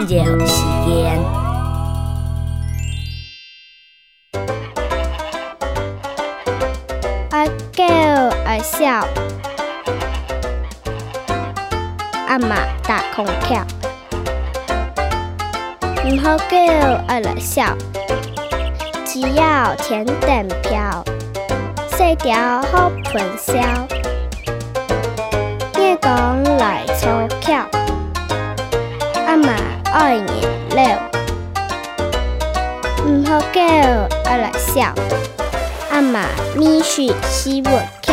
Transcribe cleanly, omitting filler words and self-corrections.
一个好的时间。 阿狗阿笑，阿妈打空调，唔好狗阿来笑，只要甜蛋飘，细条好喷销，夜讲来粗巧，阿妈爱颜料，唔好狗阿来笑。阿妈咪是西文。